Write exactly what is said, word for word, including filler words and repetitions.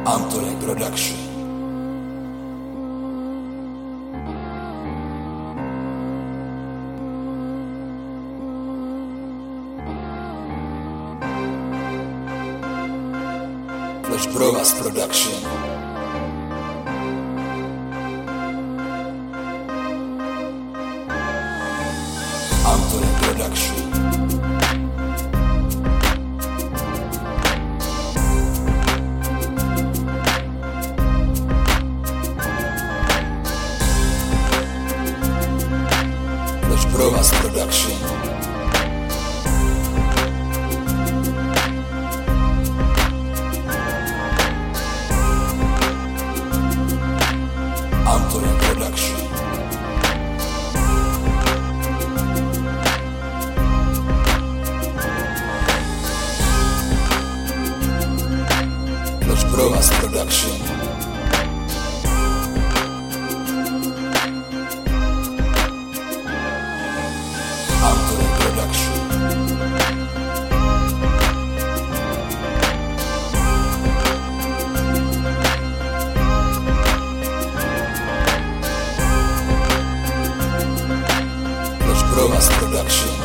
Antony Production. Flash Brovaz Production. Antony Production. Flash Brovaz Production. Antony Production. Flash Brovaz Production. Antony Production. Flash Brovaz Production.